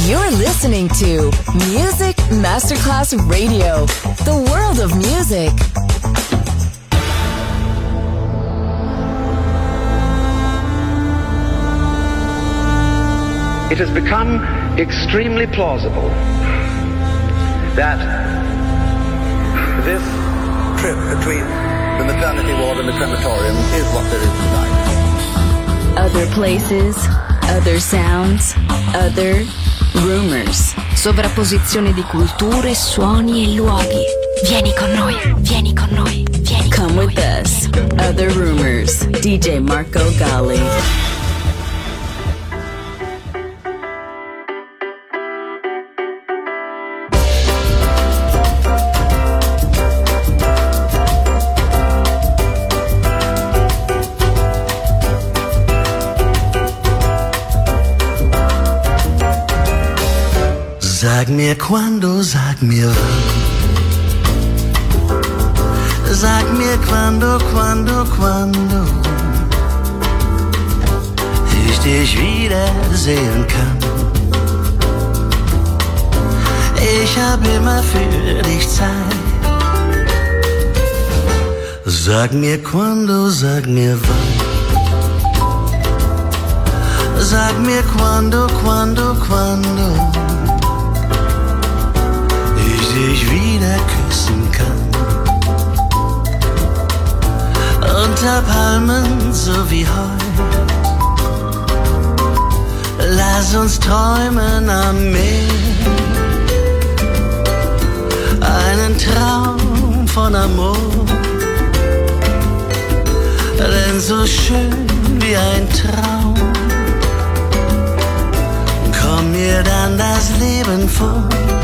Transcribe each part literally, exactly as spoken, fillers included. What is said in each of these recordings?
You're listening to Music Masterclass Radio, the world of music. It has become extremely plausible that this trip between the maternity ward and the crematorium is what there is tonight. Other places, other sounds, other rumors. Sovrapposizione di culture, suoni e luoghi. Vieni con noi, vieni con noi, vieni Come con with noi. us. Other rumors. D J Marco Gally. Sag mir quando, sag mir wann. Sag mir quando, quando, quando ich dich wiedersehen kann. Ich hab immer für dich Zeit. Sag mir quando, sag mir wann. Sag mir quando, quando, quando ich wieder küssen kann. Unter Palmen so wie heute. Lass uns träumen am Meer. Einen Traum von Amor. Denn so schön wie ein Traum kommt mir dann das Leben vor.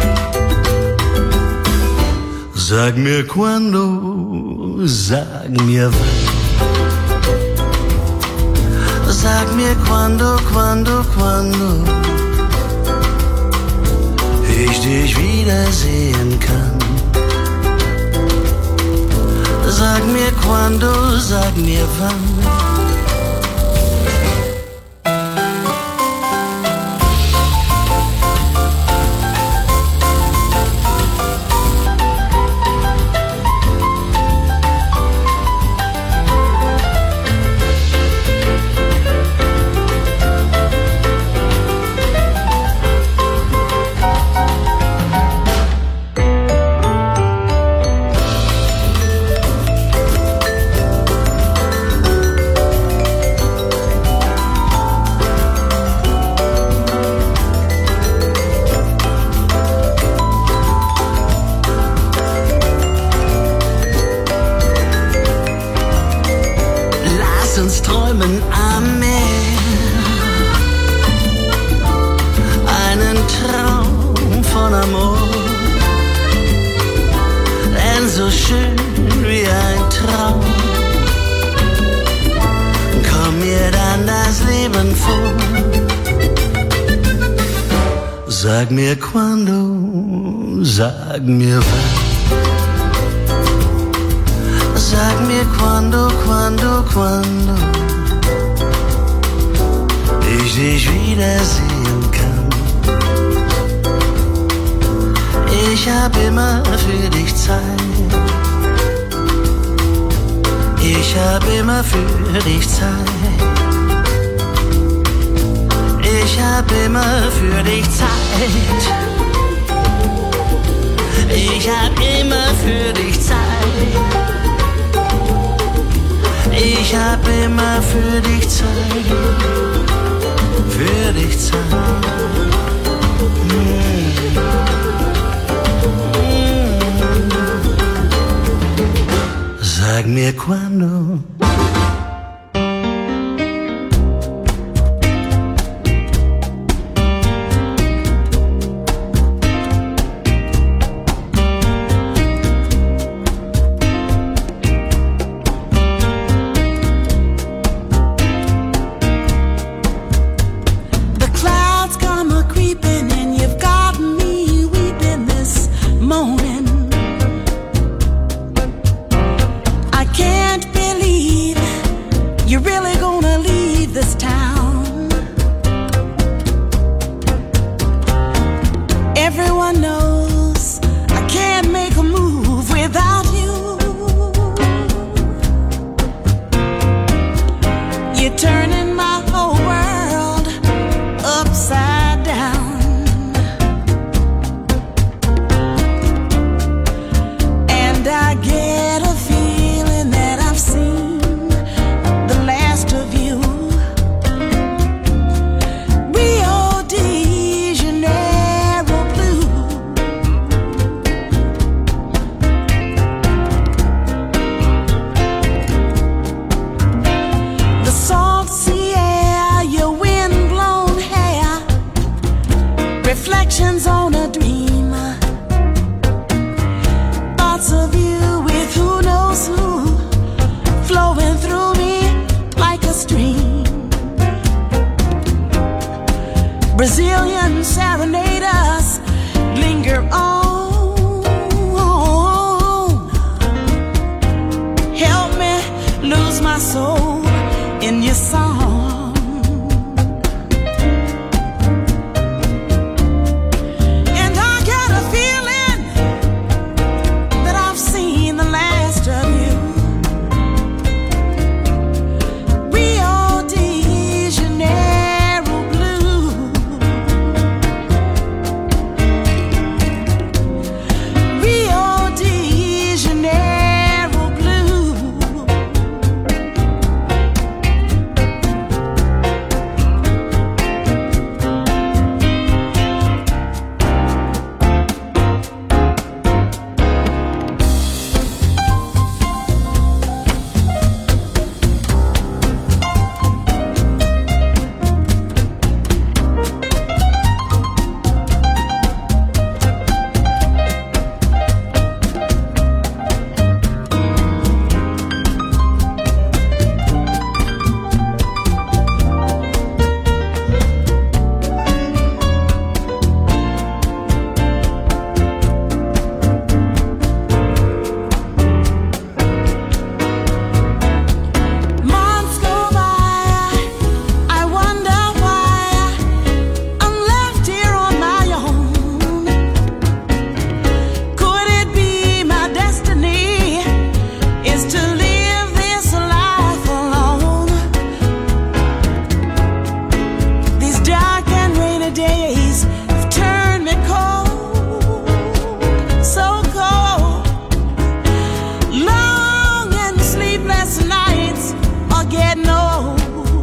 Sag mir quando, sag mir wann. Sag mir quando, quando, quando ich dich wiedersehen kann. Sag mir quando, sag mir wann. Sag mir quando, sag mir wann. Sag mir quando, quando, quando ich dich wiedersehen kann. Ich hab immer für dich Zeit. Ich hab immer für dich Zeit. Ich hab immer für dich Zeit. Ich hab immer für dich Zeit. Ich hab immer für dich Zeit. Für dich Zeit. Mm. Mm. Sag mir quando. The Brazilian serenaders linger on. Help me lose my soul in your song. And I got a feeling that I've seen the last of you. Rio de Janeiro blue. Rio de Janeiro blue. Months go by, I wonder why I'm left here on my own. Could it be my destiny is to live this life alone? These dark and rainy days have turned me cold, so cold. Long and sleepless nights are getting old.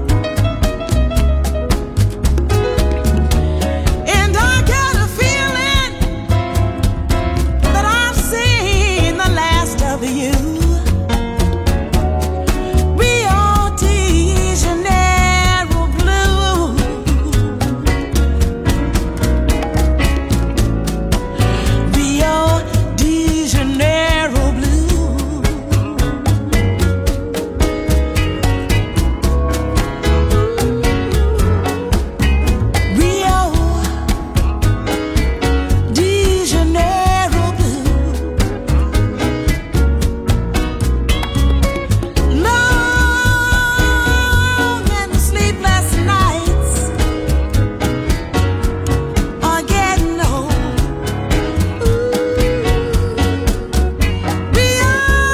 And I got a feeling that I've seen the last of you. Rio de Janeiro blue. Rio de Janeiro blue. Rio de Janeiro blue. Long and sleepless nights are getting old. Rio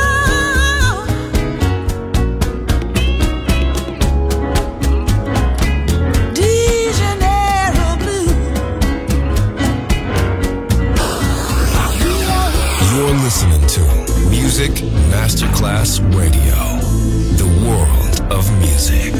de Janeiro blue. You're listening to Music Masterclass Radio, the world of music.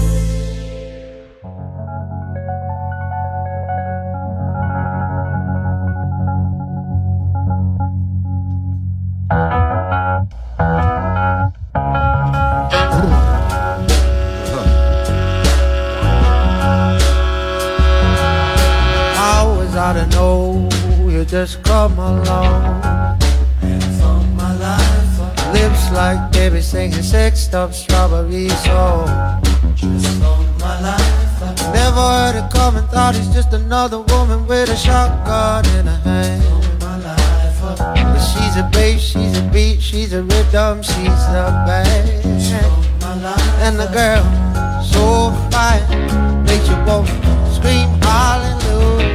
How was I to know you just come along? From my life, lips like baby singing sex stuff, strawberry song. Just from my life, never heard it coming, thought he's just another woman with a shotgun in her hand. But she's a bass, she's a beat, she's a rhythm, she's a band. And the girl, so fine, makes you want to scream hallelujah.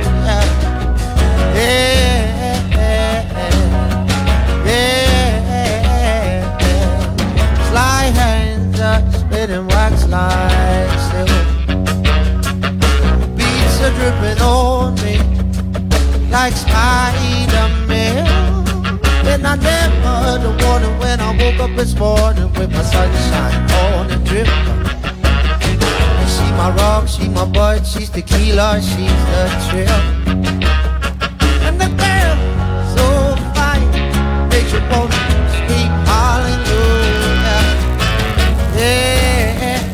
Yeah, yeah, yeah. Sly hands are spinning wax like silk. Beats are dripping on me like Spider-Man. And I never heard the warning when I woke up this morning with my sunshine on and drip. She my rock, she my bud, she's tequila, she's the trip. And the girl, so fine, makes you want to scream hallelujah. Yeah,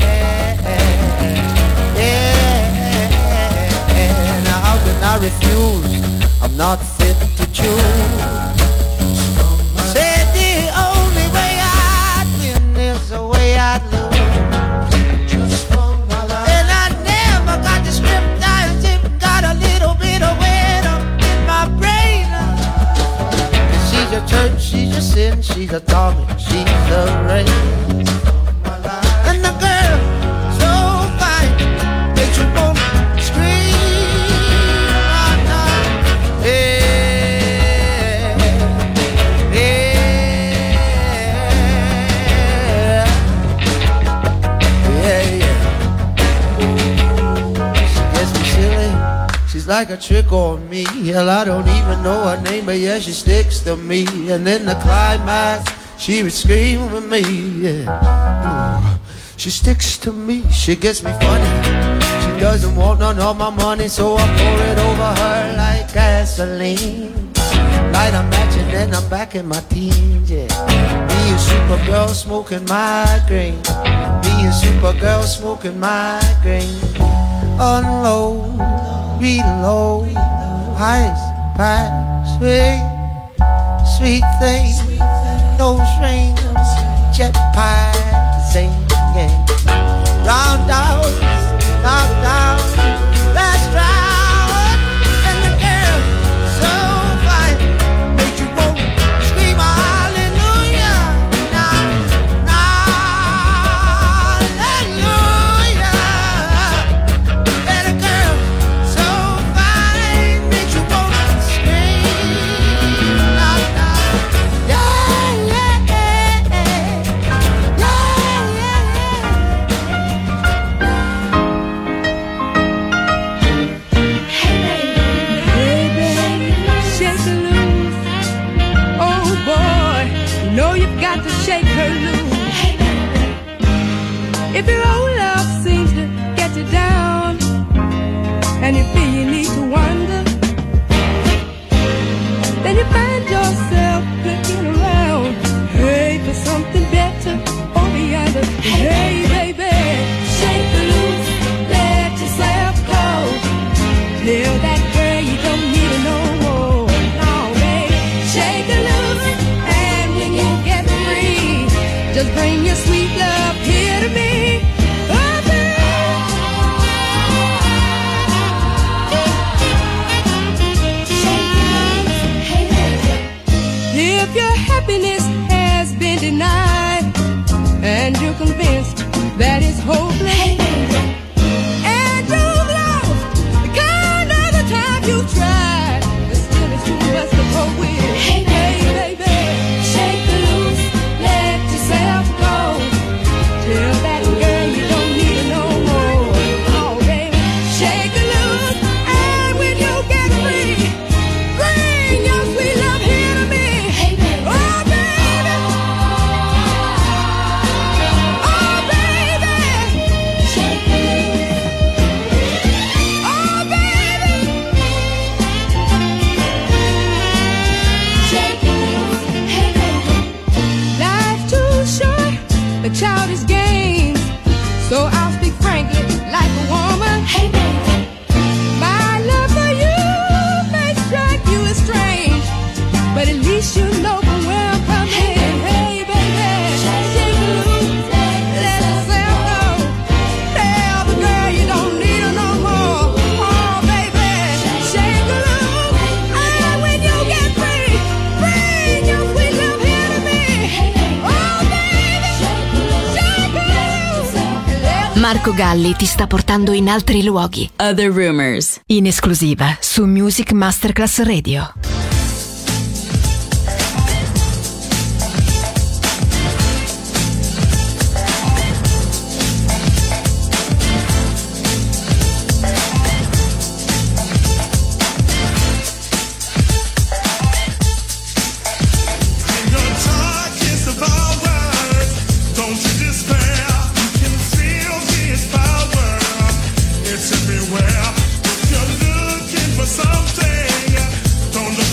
yeah. Now how can I refuse? I'm not fit to choose. Said the only way I'd win is the way I'd lose. And I never got the script, I got a sin, she's atomic, she's the rain. And the girl, so fine, makes you wanna scream out now. Yeah, yeah, yeah, yeah. She gets me silly, she's like a trick on me. Hell, I don't even know her name, but yeah, she sticks to me. And in the climax, she would scream with me, yeah. Ooh, she sticks to me, she gets me funny. She doesn't want none of my money, so I pour it over her like gasoline. Light a match and then I'm back in my teens, yeah. Me and Supergirl smoking migraine. Me and Supergirl smoking migraine. Unload, reload, ice, pie, sweet, sweet thing. Those rings, jet pie, sing, yeah. Roundhouse, knockdown, last round. And the girl, so fine, make you want to scream hallelujah. Now, now, hallelujah. And the girl, so fine, make you want to scream. Now, now, yeah, yeah, yeah, yeah, Hey baby, shake her loose. Oh boy, you know you've got to shake her loose. If your old love seems to get you down, and you feel you need to wonder, then you find yourself looking around, hey, for something better over yonder. Hey baby, shake her loose, let yourself go. Tell that girl you don't need her no more. No, baby, shake her loose, and when you get free, just bring your sweet love here to me. Oh, baby. If your happiness has been denied, and you're convinced that it's hopeless, and you've lost the kind of the time you tried, but still it's too much to cope with. Hey, baby, shake her loose, let yourself go. Tell that girl you don't need her no more. Oh, baby, shake her loose, and when you get free, bring your sweet love here to me. Oh, baby, oh, baby, shake her loose. Oh, baby, shake her loose. Hey, baby, life's too short for childish games, so I'll speak frankly like a woman. Hey, baby, my love for you may strike you as strange, but at least you know from where I'm coming. Hey, baby, shake her loose, let yourself go. Tell the girl you don't need her no more. Oh, baby, shake her loose, and when you get free, bring your sweet love here to me. Oh, baby, shake her loose. Marco Galli ti sta portando in altri luoghi. Other Rumors. In esclusiva su Music Masterclass Radio. Your talk is about words. Don't you despair. You can feel his power. It's everywhere. If you're looking for something, don't look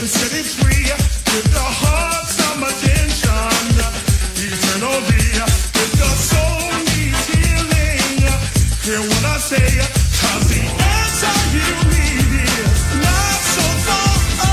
to set it free. With the heart, some attention, eternally. If the soul needs healing, hear what I say, 'cause the answer you need is not so far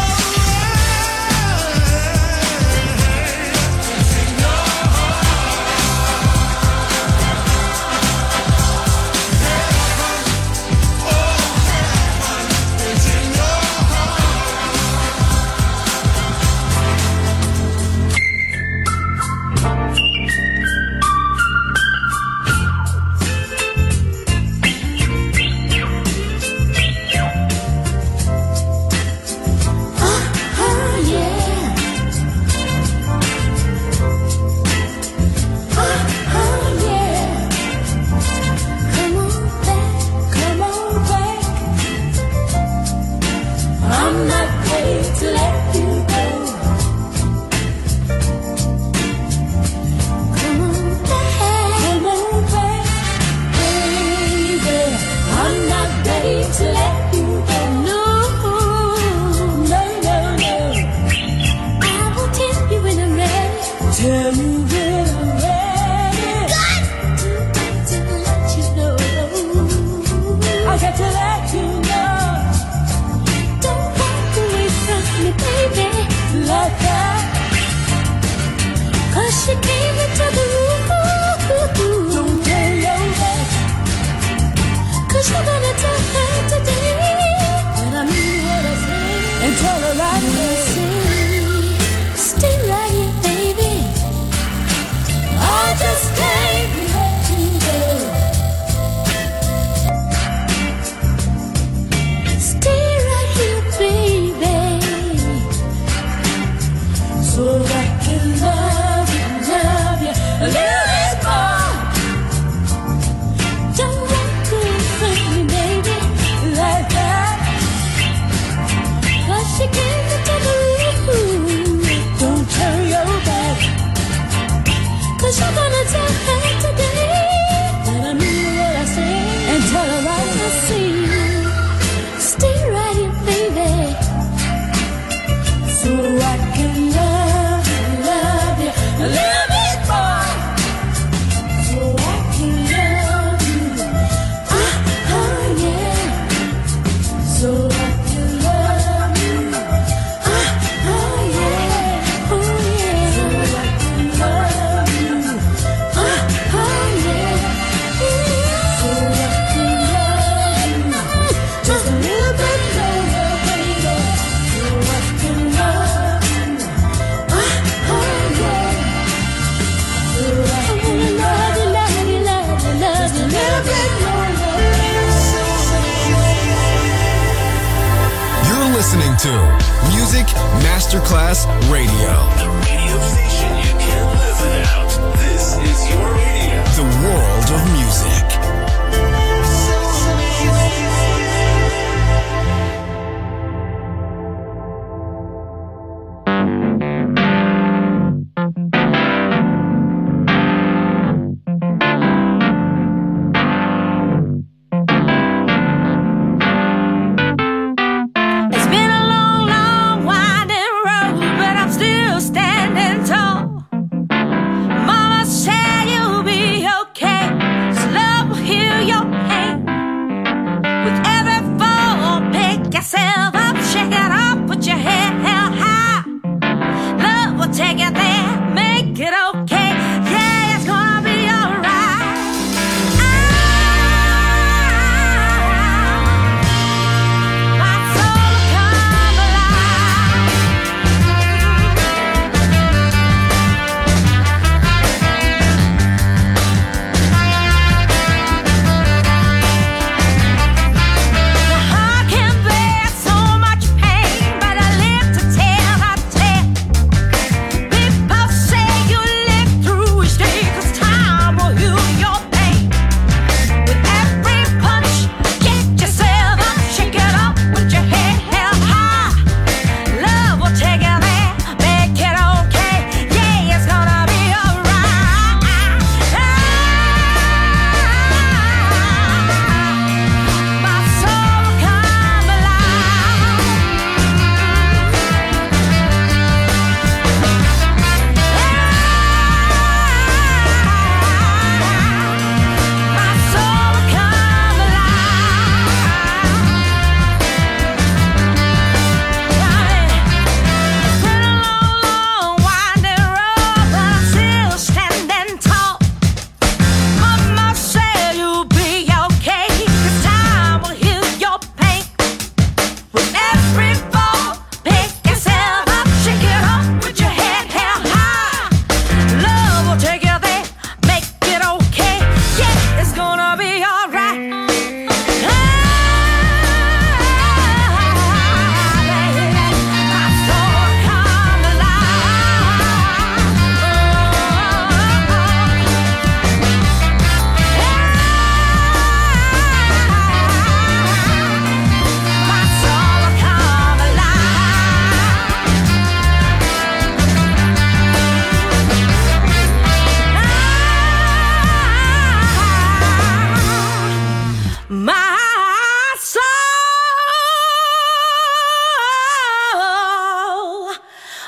to Music Masterclass Radio. The radio station you can't live without. This is your radio. The world of music.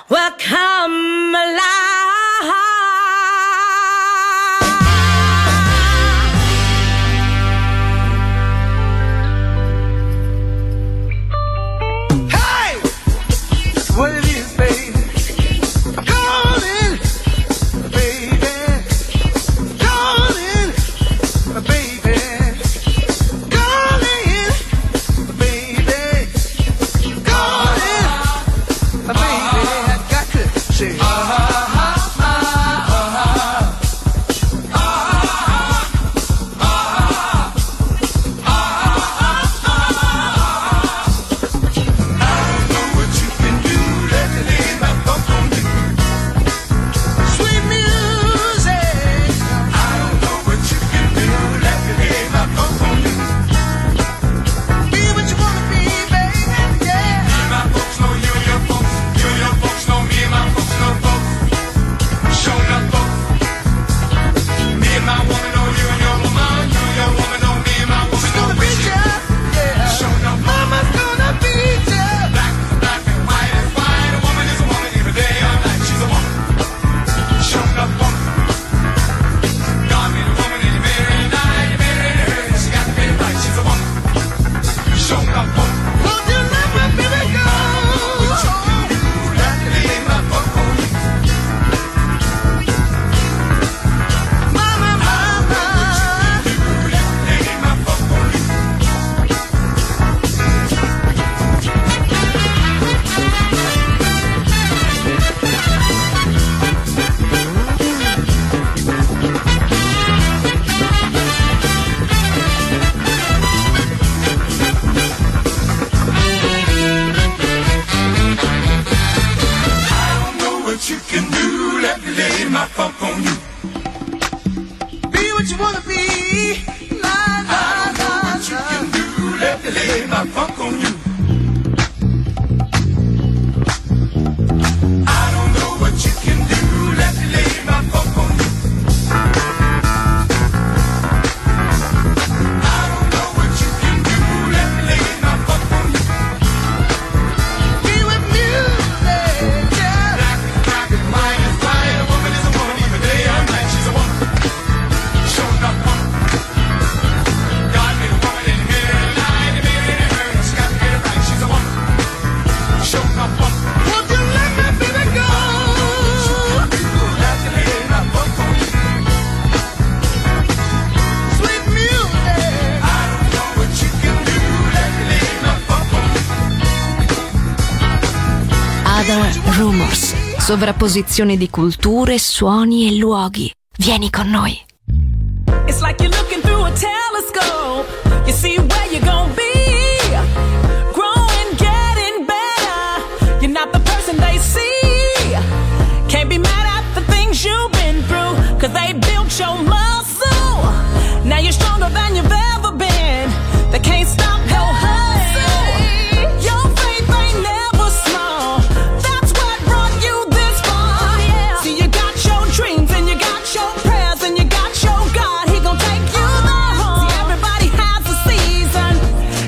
will come alive. What it is, baby. Darling, baby. Darling, baby. Darling, baby. Darling, baby. I got to say, ah, ah, ah, ah, ah, ah, Rumors, sovrapposizione di culture, suoni e luoghi. Vieni con noi. It's like you're looking through a telescope. You see where you're gonna be. Growing, getting better. You're not the person they see. Can't be mad at the things you've been through, 'cause they built your muscle. Now you're stronger than you've ever been. They can't stop your hustle. Your faith ain't never small. That's what brought you this far. See, you got your dreams and you got your prayers and you got your God. He gon' take you there. See, everybody has a season.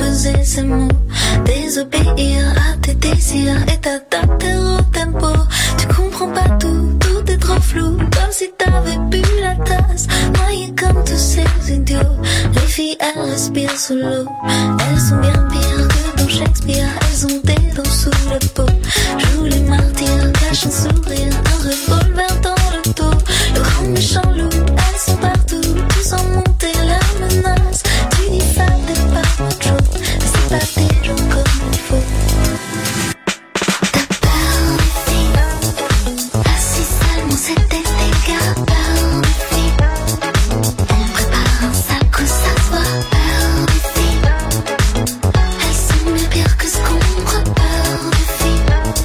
peser ces mots, désobéir à tes désirs et t'adapter au tempo. Tu comprends pas tout, tout est trop flou, comme si t'avais bu la tasse, noyé comme tous ces idiots. Les filles elles respirent sous l'eau, elles sont bien pires que dans Shakespeare, elles ont des dents sous la peau. Jouent les martyrs, cachent un sourire, un revolver dans le dos. Le grand méchant loup, elles sont partout, tous en montée la menace. Tu dis ça t'es pas macho, mais c'est pas des gens comme il faut. T'as peur des filles, ah si seulement c'était des gars. Peur des filles, elles préparent un sale coup, ça se voit. Peur des filles, elles sont bien pires que ce qu'on croit. Peur des filles.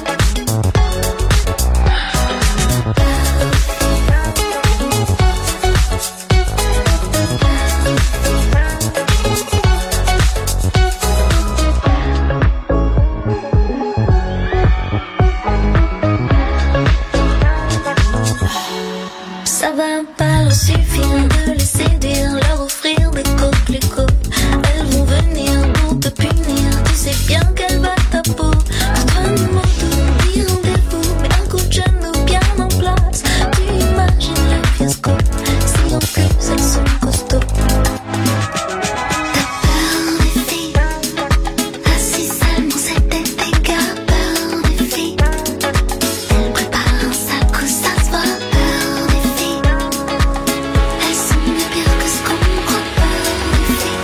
Ça va pas leur suffire de les séduire, leur offrir des coquelicots. Elles vont venir pour te punir, tu sais bien qu'elle va ta peau. Pour toi nous mentons, dit rendez-vous, mais un coup de genou bien en place. Tu imagines le fiasco, si en plus elles sont costauds. T'as peur des filles, ah si seulement c'était des gars. Peur des filles, elles préparent un sale coup, ça se voit. Peur des filles, elles sont bien pires que ce qu'on croit. Peur des filles.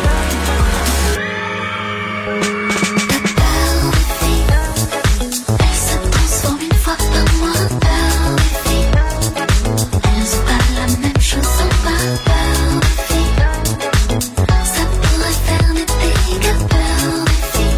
T'as peur des filles, elles se transforment une fois par mois. Peur des filles, elles ont pas la même chose en bas. Peur des filles, ça pourrait faire des dégâts. Peur des filles.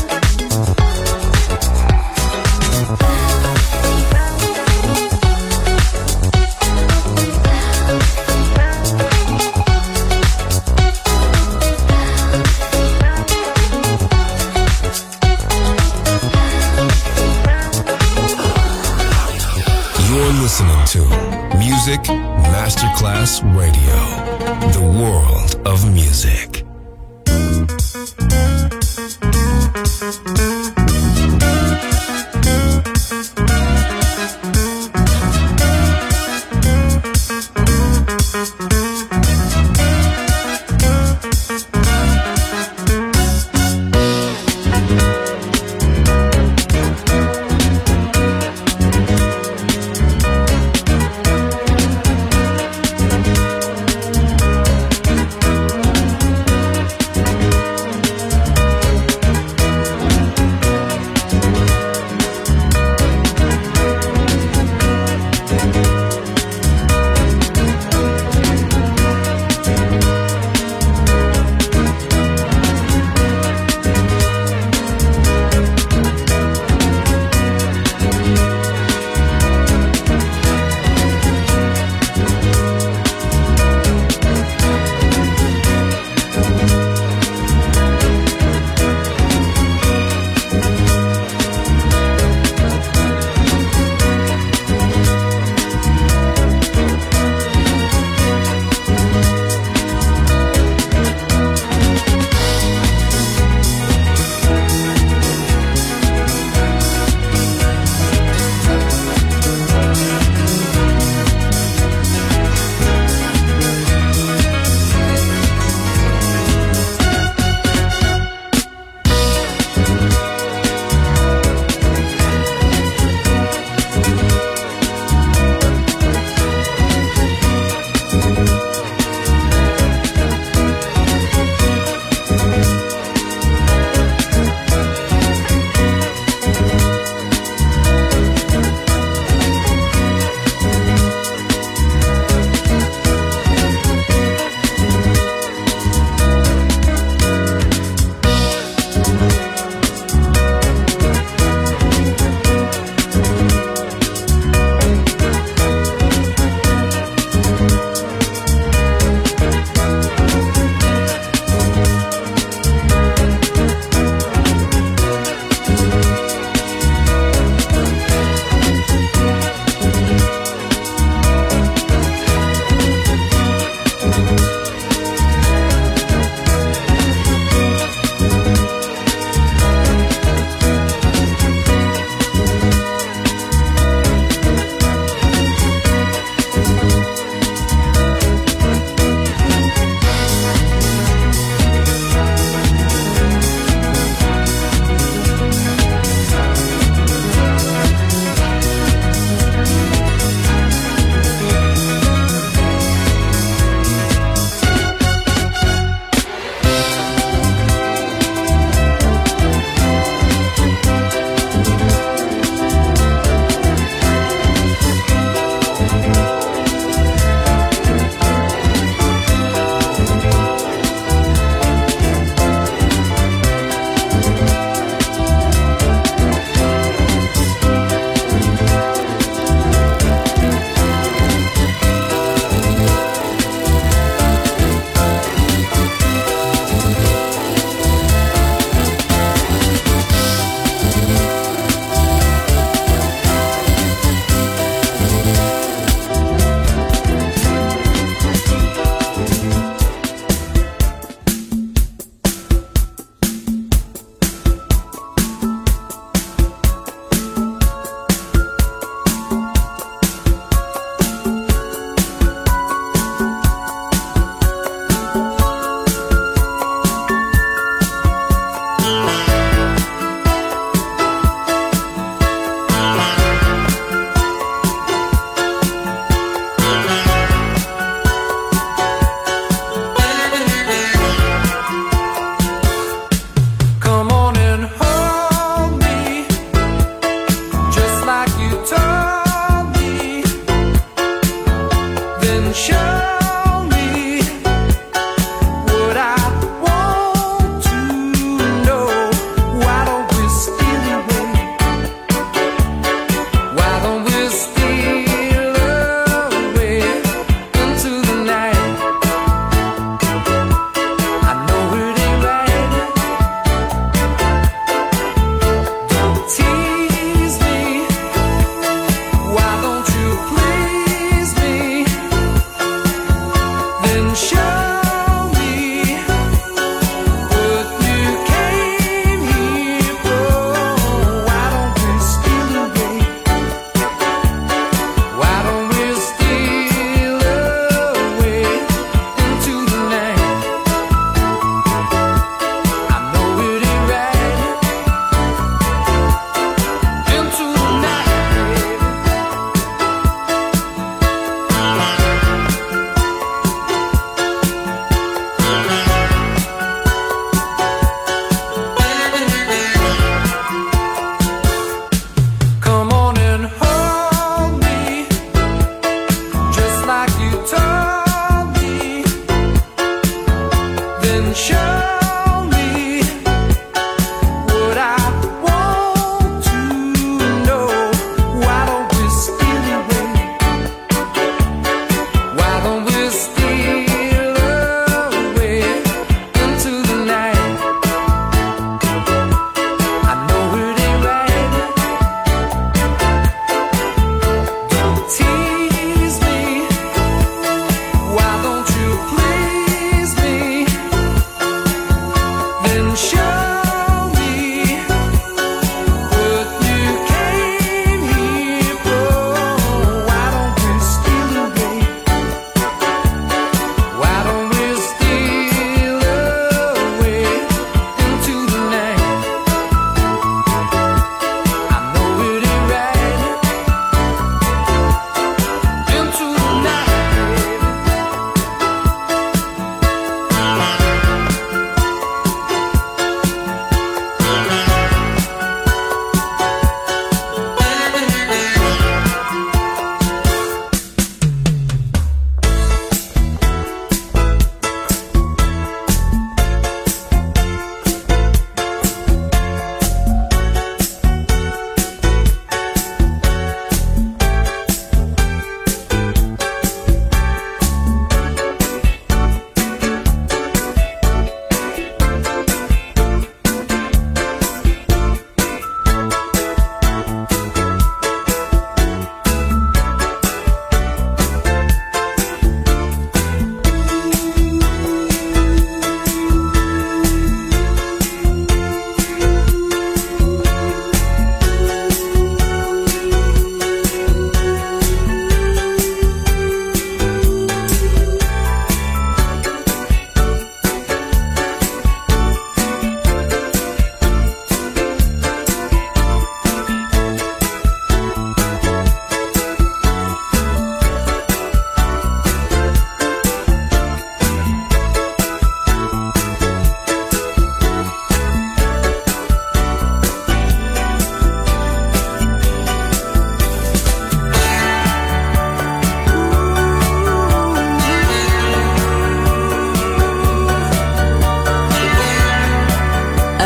You're listening to Music Masterclass Radio, the world of music. Thank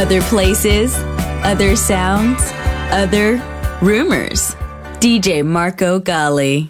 Other places, other sounds, other rumors. D J Marco Gally.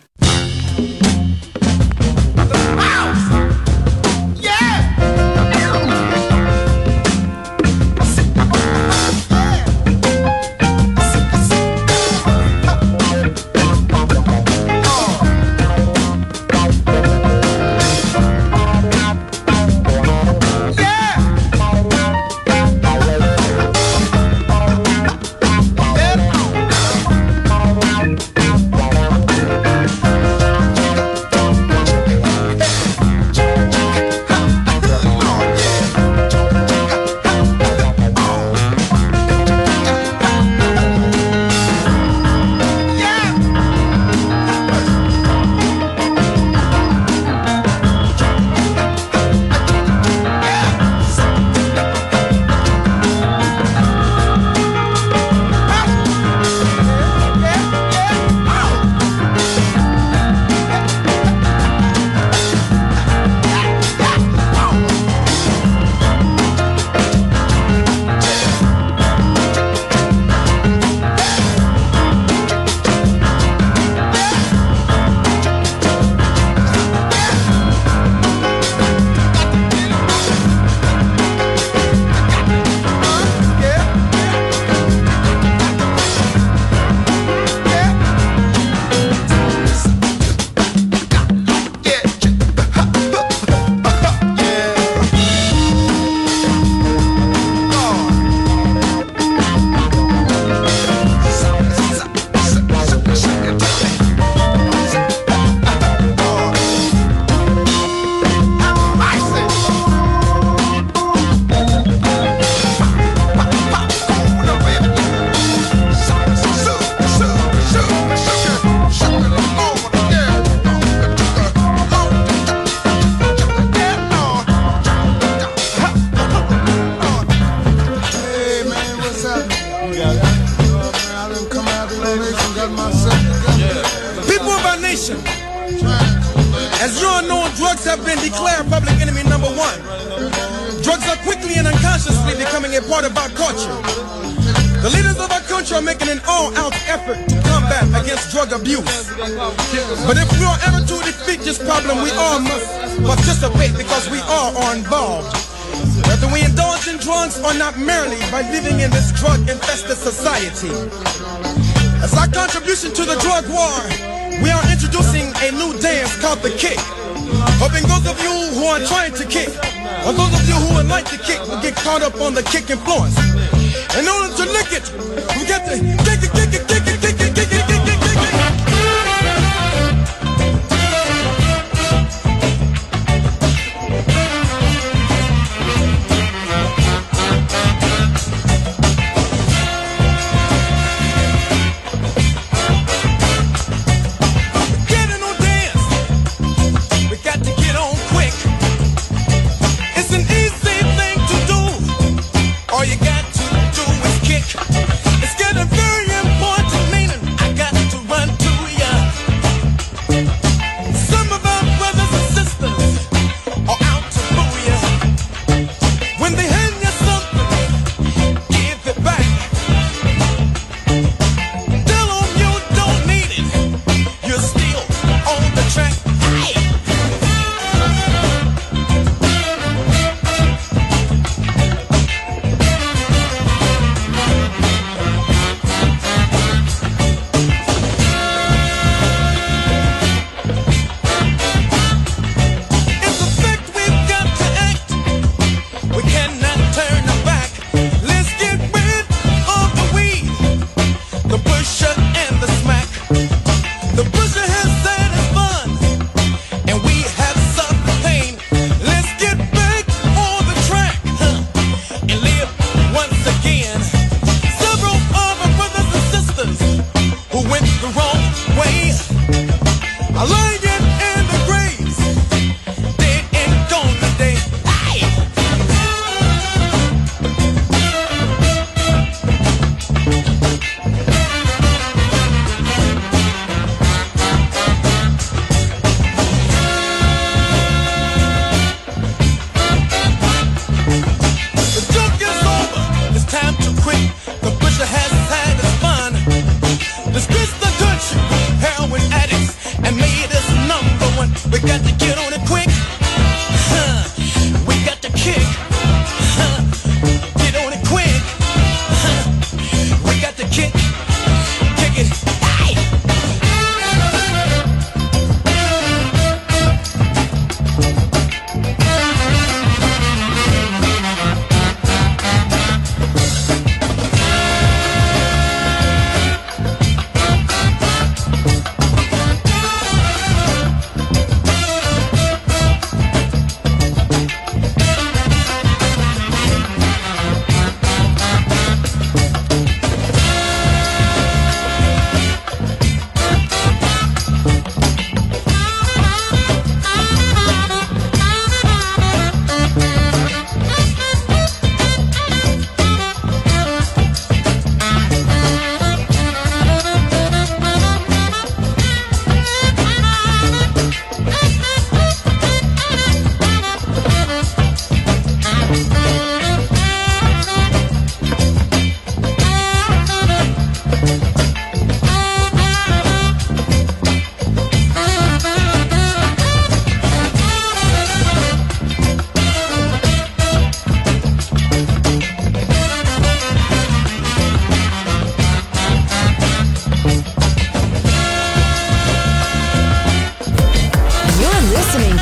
As you all know, drugs have been declared public enemy number one. Drugs are quickly and unconsciously becoming a part of our culture. The leaders of our country are making an all-out effort to combat against drug abuse. But if we are ever to defeat this problem, we all must participate because we all are involved. Whether we indulge in drugs or not, merely by living in this drug-infested society. As our contribution to the drug war, we are introducing a new dance called the kick. Hoping those of you who are trying to kick, or those of you who would like to kick, will get caught up on the kick influence. In order to lick it, we got to kick it, kick it, kick it, kick it, kick it, kick it, kick it.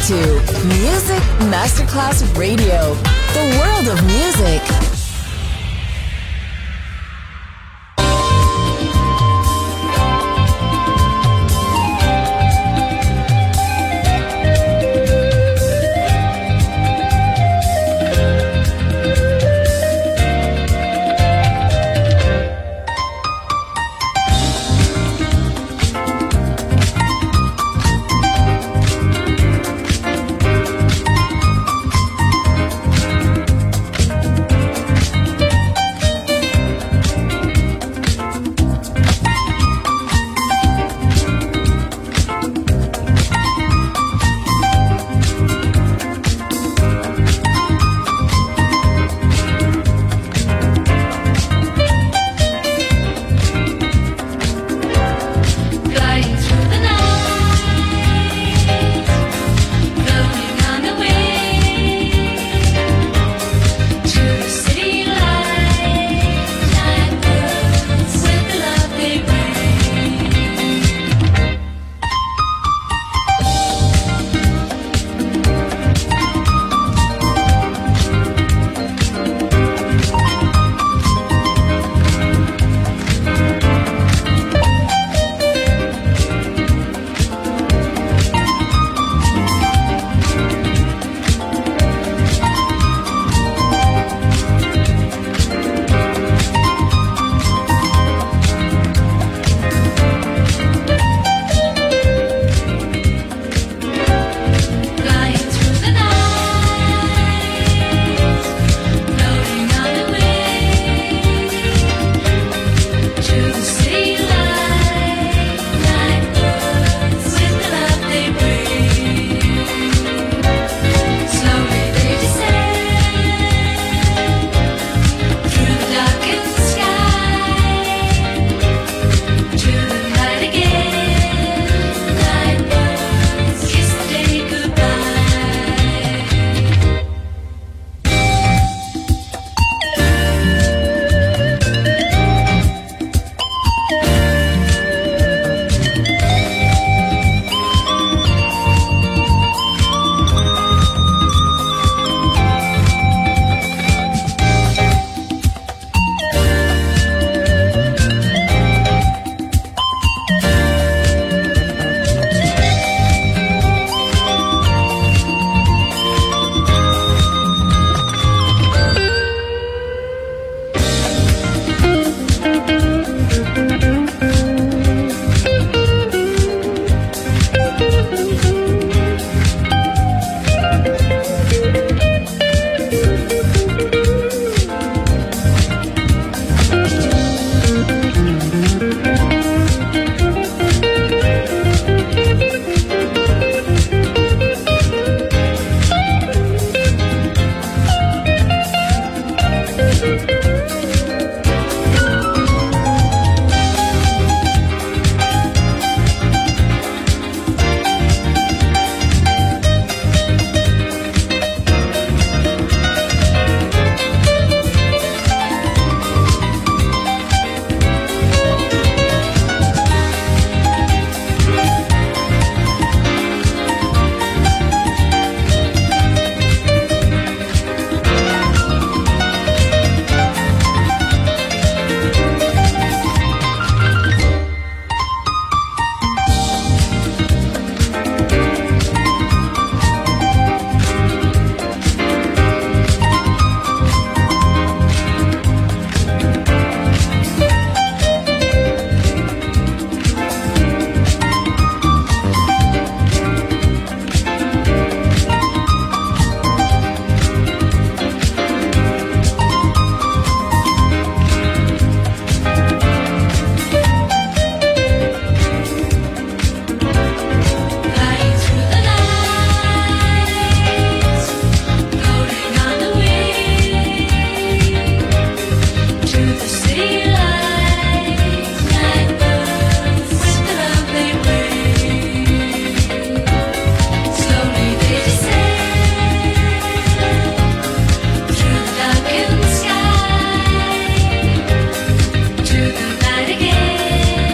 to Music Masterclass Radio, the world of music.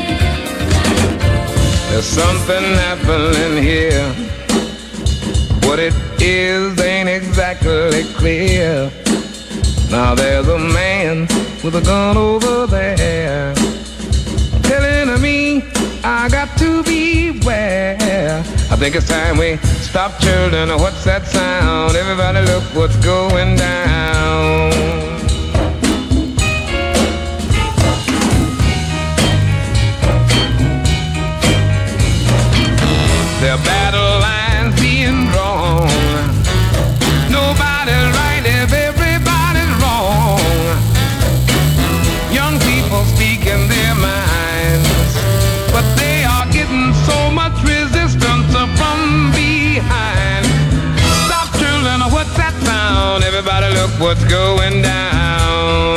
There's something happening here it is ain't exactly clear. Now there's a man with a gun over there telling me I got to beware. I think it's time we stop, children. What's that sound? Everybody look what's going down. There are battle lines being drawn. Nobody's right if everybody's wrong. Young people speaking their minds, but they are getting so much resistance from behind. Stop, children, what's that sound? Everybody look what's going down.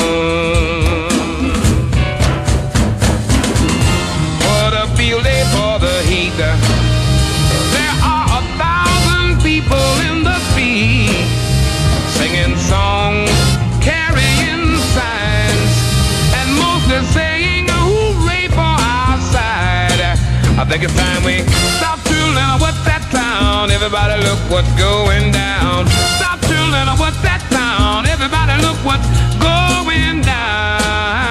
What a field day for the heat. There are a thousand people in the street singing songs, carrying signs, and mostly saying hooray for our side. I think it's time we stop, children. What's that sound? Everybody look what's going down. Stop, children. What's that sound? Everybody look what's going down.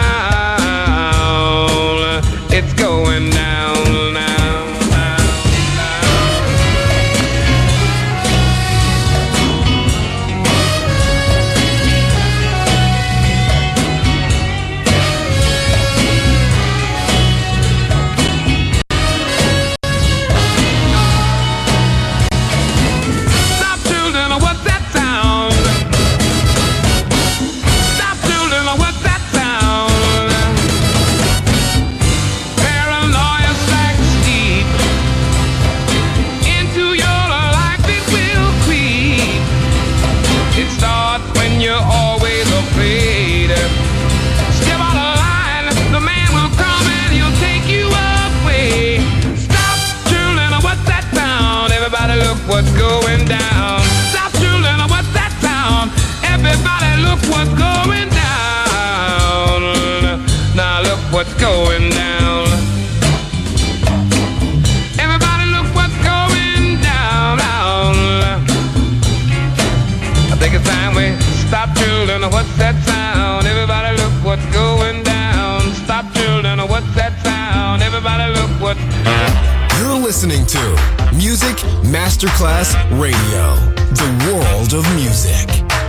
It's going down now. What's going down? Stop, children, what's that sound? Everybody look what's going down. Now look what's going down. Everybody look what's going down. I think it's time we stop, children, what's that sound? Everybody look what's going down. Stop, children, what's that sound? Everybody look what's... You're listening to Music Masterclass Radio, the world of music.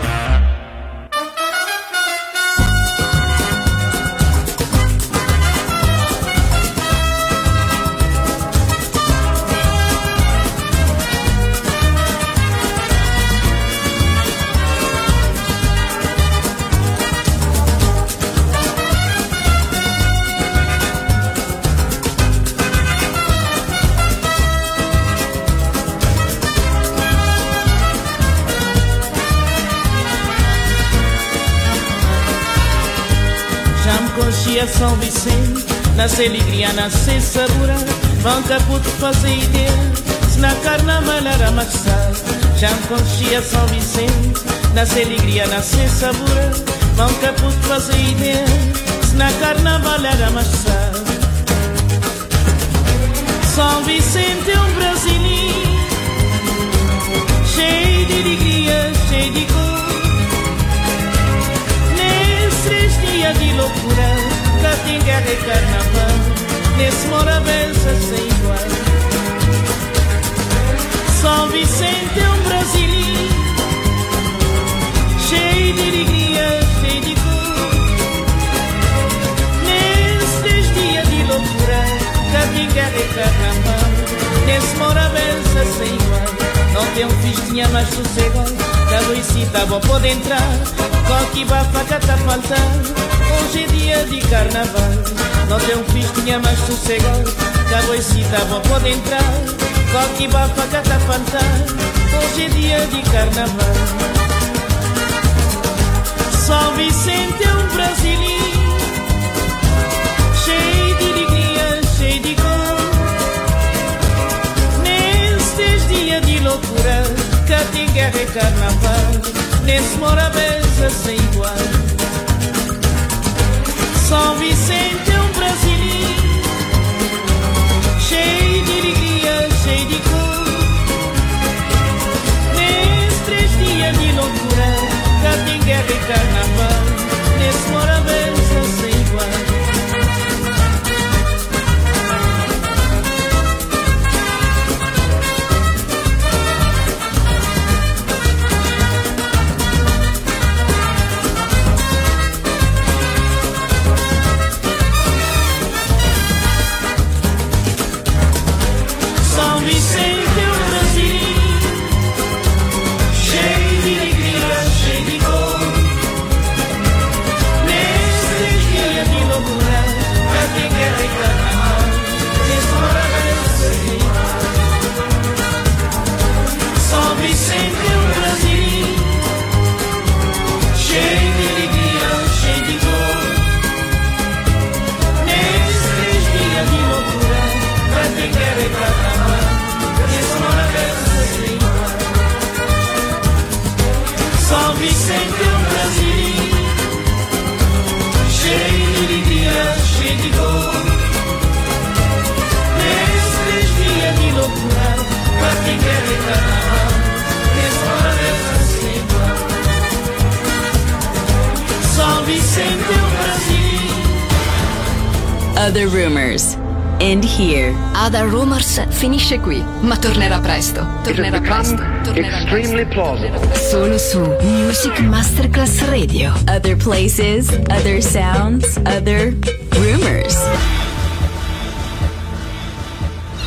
São Vicente, nasce alegria, nasce sabor. Banca puto fazer ideia, se na carnaval era maxado. Já me conhecia São Vicente, nasce alegria, nasce sabor. Banca puto fazer ideia, se na carnaval era maxado. São Vicente é um brasileiro, cheio de alegria, cheio de cor. Nesses dias de loucura, tem guerra e carnaval, nesse Morabeza sem igual. São Vicente é um brasileiro, cheio de alegria, cheio de cor. Nesses dias de loucura, cá tem guerra e carnaval, nesse Morabeza sem igual. Não tem um festinha mais sossegado, da Luisita vou poder entrar, qualquer bafaca tá faltando. Hoje é dia de carnaval, não tem um festinha mais sossegado, que a boicita vou poder entrar, qualquer bafaca tá faltando. Hoje é dia de carnaval. São Vicente é um brasileiro, cheio de alegria, cheio de cor. Nestes dias de loucura, cá tem guerra e carnaval, nesse Morabeza sem igual. São Vicente é um brasileiro, cheio de alegria, cheio de cor. guerra e carnaval, nesse Morabeza sem igual. São Vicente é o Brasil, cheio de alegria, cheio de cor. Nesse dia de loucura, pra quem quer e carnaval, nesse Morabeza sem igual. São Vicente é o Brasil, cheio de alegria, cheio de cor. Nesses dias de loucura, pra quem quer e carnaval, nesse Morabeza sem igual. São Vicente é o Brasil, cheio de alegria, cheio de dor. Nesses dias de loucura, pra quem quer e carnaval, nesse Morabeza sem igual. São Vicente é o Brasil. Other Rumors. End here. Other Rumors finisce qui, ma tornerà presto. Tornerà presto. Tornerà Extremely plausible. Solo su Music Masterclass Radio. Other places, other sounds, other